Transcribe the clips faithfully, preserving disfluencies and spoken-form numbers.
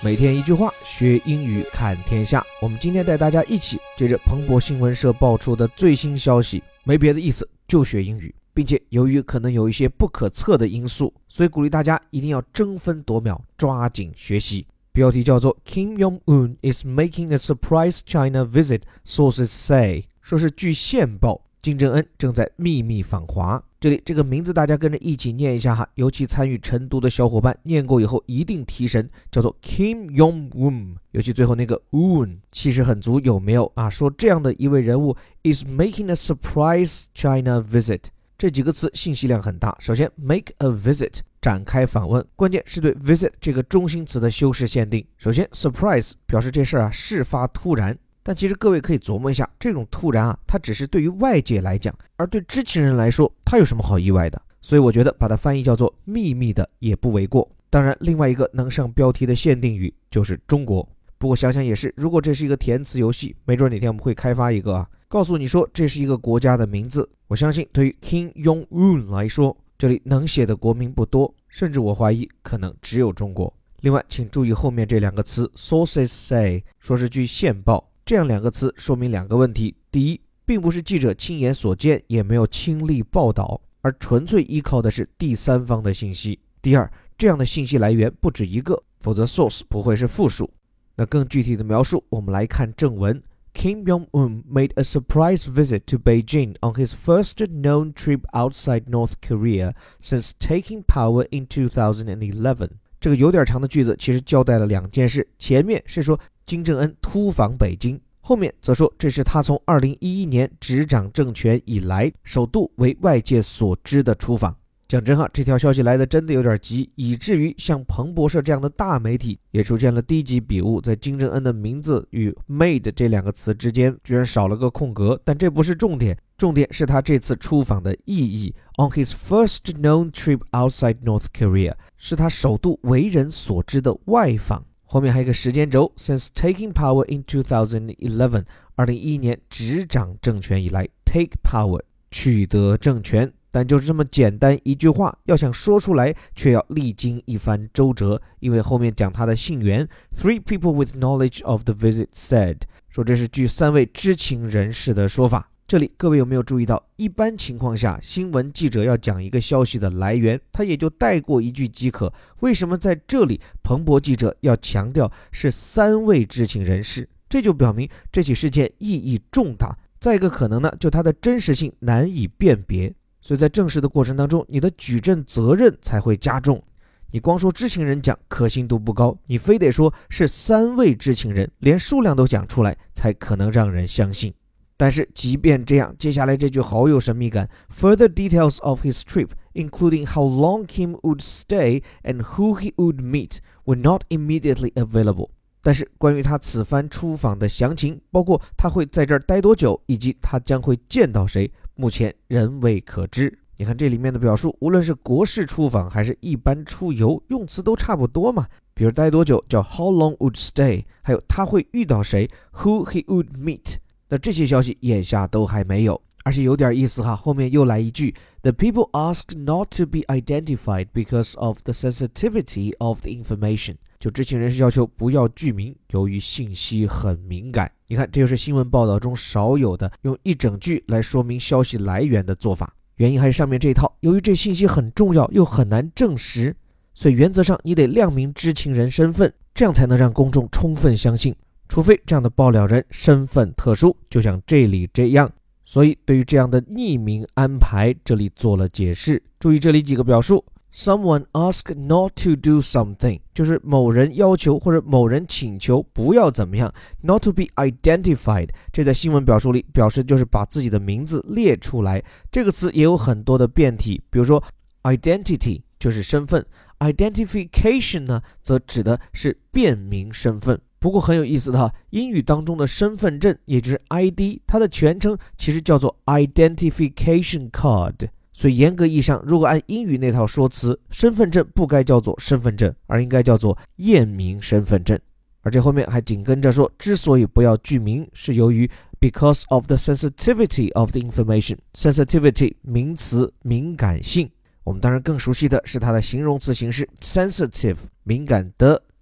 每天一句话，学英语看天下。我们今天带大家一起接着彭博新闻社爆出的最新消息，没别的意思，就学英语，并且由于可能有一些不可测的因素，所以鼓励大家一定要争分夺秒，抓紧学习。标题叫做 Kim Jong-un is making a surprise China visit, sources say， 说是据线报，金正恩正在秘密访华。这里这个名字大家跟着一起念一下哈，尤其参与晨读的小伙伴念过以后一定提神，叫做 Kim Jong-un， 尤其最后那个 un 气势很足，有没有啊？说这样的一位人物 is making a surprise China visit， 这几个词信息量很大。首先 make a visit， 展开访问，关键是对 visit 这个中心词的修饰限定。首先 surprise 表示这事儿啊事发突然，但其实各位可以琢磨一下，这种突然啊，它只是对于外界来讲，而对知情人来说，它有什么好意外的？所以我觉得把它翻译叫做秘密的也不为过。当然，另外一个能上标题的限定语就是中国。不过想想也是，如果这是一个填词游戏，没准哪天我们会开发一个啊，告诉你说这是一个国家的名字。我相信对于 Kim Jong-un 来说，这里能写的国民不多，甚至我怀疑可能只有中国。另外，请注意后面这两个词 sources say， 说是据线报。这样两个词说明两个问题：第一，并不是记者亲眼所见，也没有亲历报道，而纯粹依靠的是第三方的信息；第二，这样的信息来源不止一个，否则 source 不会是复数。那更具体的描述，我们来看正文。Kim Jong-un made a surprise visit to Beijing on his first known trip outside North Korea since taking power in two thousand eleven。这个有点长的句子其实交代了两件事，前面是说金正恩突访北京，后面则说这是他从二零一一年执掌政权以来首度为外界所知的出访。讲真哈，这条消息来的真的有点急，以至于像彭博社这样的大媒体也出现了低级笔误，在金正恩的名字与 made 这两个词之间居然少了个空格。但这不是重点，重点是他这次出访的意义。On his first known trip outside North Korea， 是他首度为人所知的外访。后面还有一个时间轴 since taking power in two thousand eleven， 二零一一年执掌政权以来 take power 取得政权。但就是这么简单一句话，要想说出来却要历经一番周折，因为后面讲他的信源 Three people with knowledge of the visit said， 说这是据三位知情人士的说法。这里各位有没有注意到，一般情况下新闻记者要讲一个消息的来源，他也就带过一句即可，为什么在这里彭博记者要强调是三位知情人士？这就表明这起事件意义重大。再一个可能呢，就它的真实性难以辨别，所以在证实的过程当中，你的举证责任才会加重。你光说知情人讲可信度不高，你非得说是三位知情人，连数量都讲出来，才可能让人相信。但是即便这样，接下来这句好有神秘感 Further details of his trip, including how long Kim would stay and who he would meet, were not immediately available。 但是关于他此番出访的详情，包括他会在这儿待多久，以及他将会见到谁，目前仍未可知。你看这里面的表述，无论是国事出访还是一般出游，用词都差不多嘛。比如待多久叫 how long would stay， 还有他会遇到谁 who he would meet。那这些消息眼下都还没有，而且有点意思哈，后面又来一句 The people asked not to be identified because of the sensitivity of the information， 就知情人士要求不要具名，由于信息很敏感。你看这就是新闻报道中少有的用一整句来说明消息来源的做法，原因还是上面这一套，由于这信息很重要又很难证实，所以原则上你得亮明知情人身份，这样才能让公众充分相信，除非这样的爆料人身份特殊，就像这里这样。所以对于这样的匿名安排，这里做了解释。注意这里几个表述 Someone asked not to do something， 就是某人要求或者某人请求不要怎么样。 Not to be identified， 这在新闻表述里表示就是把自己的名字列出来。这个词也有很多的变体，比如说 identity 就是身份， identification 呢则指的是辨明身份。不过很有意思的哈，英语当中的身份证也就是 I D， 它的全称其实叫做 Identification Card， 所以严格意义上，如果按英语那套说辞，身份证不该叫做身份证，而应该叫做验明身份证。而这后面还紧跟着说，之所以不要具名，是由于 because of the sensitivity of the information。 Sensitivity 名词，敏感性。我们当然更熟悉的是它的形容词形式 sensitive， 敏感的，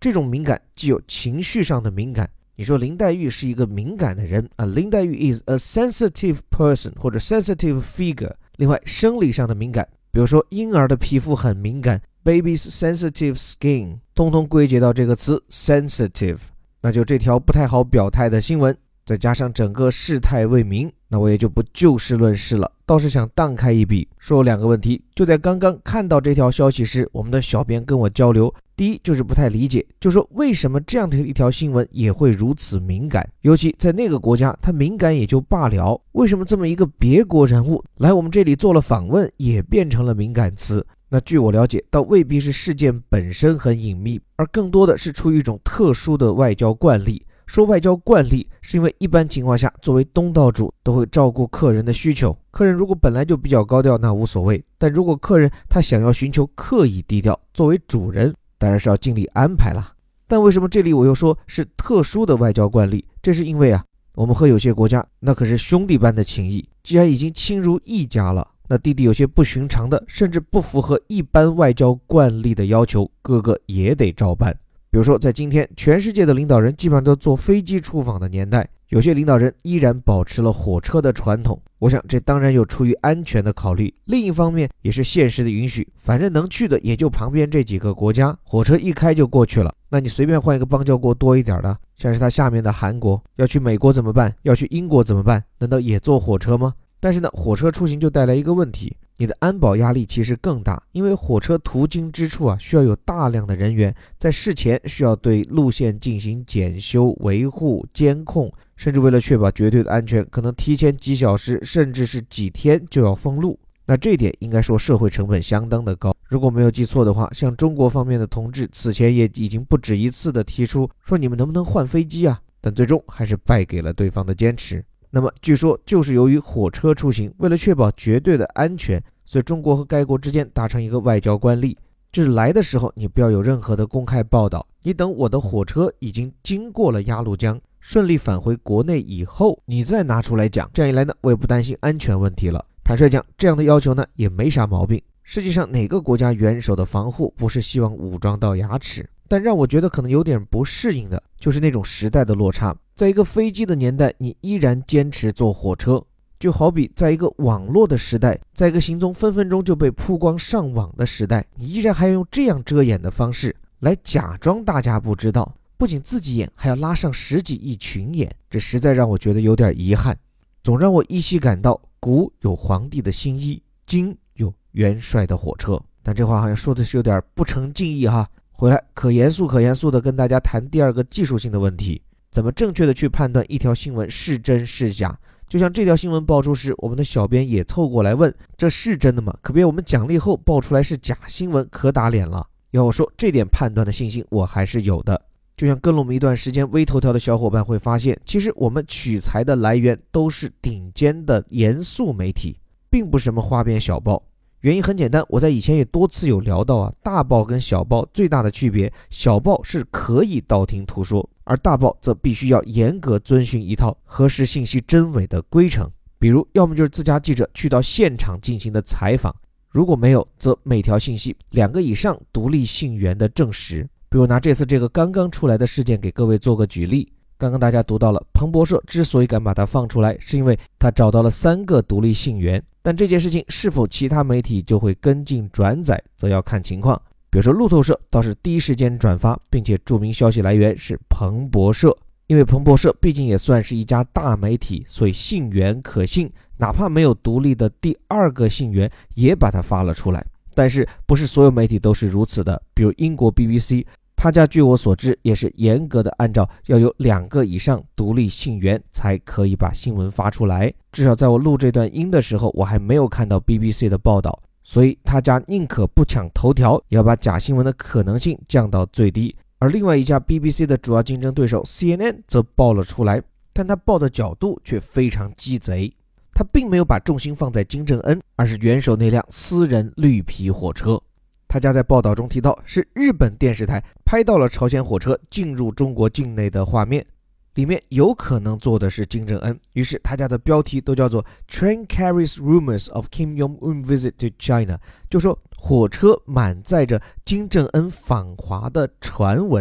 这种敏感既有情绪上的敏感，你说林黛玉是一个敏感的人啊，林黛玉 is a sensitive person 或者 sensitive figure。另外生理上的敏感，比如说婴儿的皮肤很敏感 baby's sensitive skin， 通通归结到这个词 sensitive。 那就这条不太好表态的新闻，再加上整个事态未明，那我也就不就事论事了，倒是想荡开一笔，说两个问题。就在刚刚看到这条消息时，我们的小编跟我交流，第一就是不太理解，就说为什么这样的一条新闻也会如此敏感，尤其在那个国家它敏感也就罢了，为什么这么一个别国人物来我们这里做了访问也变成了敏感词？那据我了解，倒未必是事件本身很隐秘，而更多的是出于一种特殊的外交惯例。说外交惯例是因为一般情况下作为东道主都会照顾客人的需求，客人如果本来就比较高调那无所谓，但如果客人他想要寻求刻意低调，作为主人当然是要尽力安排啦。但为什么这里我又说是特殊的外交惯例？这是因为啊，我们和有些国家那可是兄弟般的情谊，既然已经亲如一家了，那弟弟有些不寻常的甚至不符合一般外交惯例的要求，哥哥也得照办。比如说在今天全世界的领导人基本上都坐飞机出访的年代，有些领导人依然保持了火车的传统，我想这当然有出于安全的考虑，另一方面也是现实的允许，反正能去的也就旁边这几个国家，火车一开就过去了，那你随便换一个邦交国多一点的，像是他下面的韩国，要去美国怎么办？要去英国怎么办？难道也坐火车吗？但是呢，火车出行就带来一个问题，你的安保压力其实更大，因为火车途经之处啊，需要有大量的人员在事前需要对路线进行检修、维护、监控，甚至为了确保绝对的安全，可能提前几小时甚至是几天就要封路。那这一点应该说社会成本相当的高。如果没有记错的话，像中国方面的同志此前也已经不止一次的提出说你们能不能换飞机啊，但最终还是败给了对方的坚持。那么据说就是由于火车出行，为了确保绝对的安全，所以中国和该国之间达成一个外交惯例，就是来的时候你不要有任何的公开报道，你等我的火车已经经过了鸭绿江，顺利返回国内以后，你再拿出来讲，这样一来呢，我也不担心安全问题了。坦率讲，这样的要求呢也没啥毛病。实际上哪个国家元首的防护不是希望武装到牙齿？但让我觉得可能有点不适应的就是那种时代的落差，在一个飞机的年代你依然坚持坐火车，就好比在一个网络的时代，在一个行踪分分钟就被曝光上网的时代，你依然还要用这样遮掩的方式来假装大家不知道，不仅自己演还要拉上十几亿群演，这实在让我觉得有点遗憾，总让我依稀感到古有皇帝的新衣，今有元帅的火车。但这话好像说的是有点不成敬意哈。回来可严肃可严肃的跟大家谈第二个技术性的问题，怎么正确的去判断一条新闻是真是假。就像这条新闻爆出时，我们的小编也凑过来问，这是真的吗？可别我们奖励后爆出来是假新闻，可打脸了。要我说，这点判断的信心我还是有的。就像跟了我们一段时间微头条的小伙伴会发现，其实我们取材的来源都是顶尖的严肃媒体，并不是什么花边小报。原因很简单，我在以前也多次有聊到啊，大报跟小报最大的区别，小报是可以道听途说，而大报则必须要严格遵循一套核实信息真伪的规程。比如要么就是自家记者去到现场进行的采访，如果没有，则每条信息两个以上独立信源的证实。比如拿这次这个刚刚出来的事件给各位做个举例，刚刚大家读到了彭博社之所以敢把它放出来，是因为他找到了三个独立信源，但这件事情是否其他媒体就会跟进转载，则要看情况。比如说路透社倒是第一时间转发，并且注明消息来源是彭博社，因为彭博社毕竟也算是一家大媒体，所以信源可信，哪怕没有独立的第二个信源也把它发了出来。但是不是所有媒体都是如此的，比如英国 B B C， 他家据我所知也是严格的按照要有两个以上独立信源才可以把新闻发出来，至少在我录这段音的时候我还没有看到 B B C 的报道，所以他家宁可不抢头条，也要把假新闻的可能性降到最低。而另外一家 B B C 的主要竞争对手 C N N 则报了出来，但他报的角度却非常鸡贼，他并没有把重心放在金正恩，而是元首那辆私人绿皮火车。他家在报道中提到是日本电视台拍到了朝鲜火车进入中国境内的画面，里面有可能坐的是金正恩，于是他家的标题都叫做 Train carries rumors of Kim Jong-un visit to China， 就说火车满载着金正恩访华的传闻。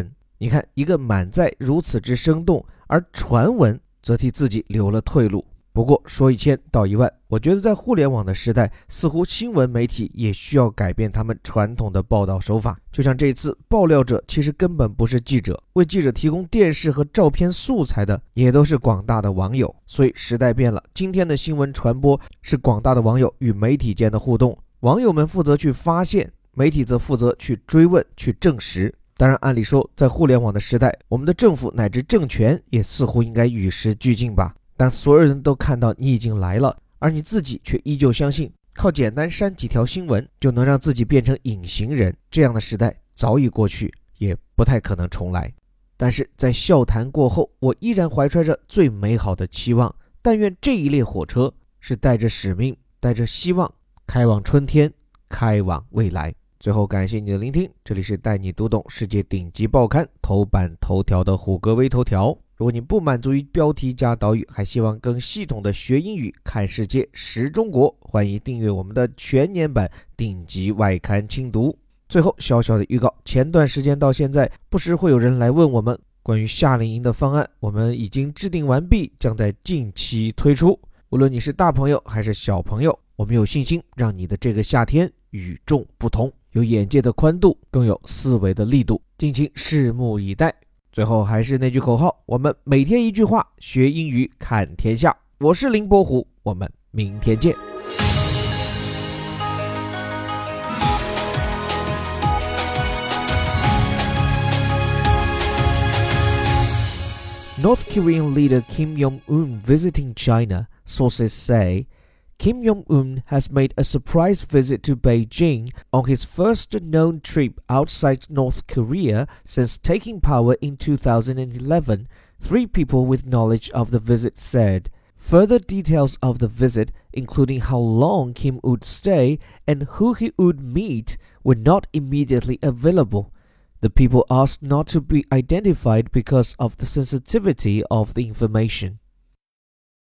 你看，一个满载如此之生动，而传闻则替自己留了退路。不过说一千道一万，我觉得在互联网的时代，似乎新闻媒体也需要改变他们传统的报道手法。就像这次爆料者其实根本不是记者，为记者提供电视和照片素材的也都是广大的网友。所以时代变了，今天的新闻传播是广大的网友与媒体间的互动，网友们负责去发现，媒体则负责去追问、去证实。当然，按理说在互联网的时代，我们的政府乃至政权也似乎应该与时俱进吧。但所有人都看到你已经来了，而你自己却依旧相信靠简单删几条新闻就能让自己变成隐形人，这样的时代早已过去，也不太可能重来。但是在笑谈过后，我依然怀揣着最美好的期望，但愿这一列火车是带着使命，带着希望，开往春天，开往未来。最后感谢你的聆听，这里是带你读懂世界顶级报刊头版头条的虎哥微头条。如果你不满足于标题加导语，还希望更系统的学英语、看世界、识中国，欢迎订阅我们的全年版顶级外刊精读。最后小小的预告，前段时间到现在，不时会有人来问我们关于夏令营的方案，我们已经制定完毕，将在近期推出。无论你是大朋友还是小朋友，我们有信心让你的这个夏天与众不同，有眼界的宽度，更有思维的力度，敬请拭目以待。最后还是那句口号，我们每天一句话，学英语看天下。我是林伯虎，我们明天见。North Korean leader Kim Jong-un visiting China, sources say. Kim Jong-un has made a surprise visit to Beijing on his first known trip outside North Korea since taking power in two thousand eleven, three people with knowledge of the visit said. Further details of the visit, including how long Kim would stay and who he would meet, were not immediately available. The people asked not to be identified because of the sensitivity of the information.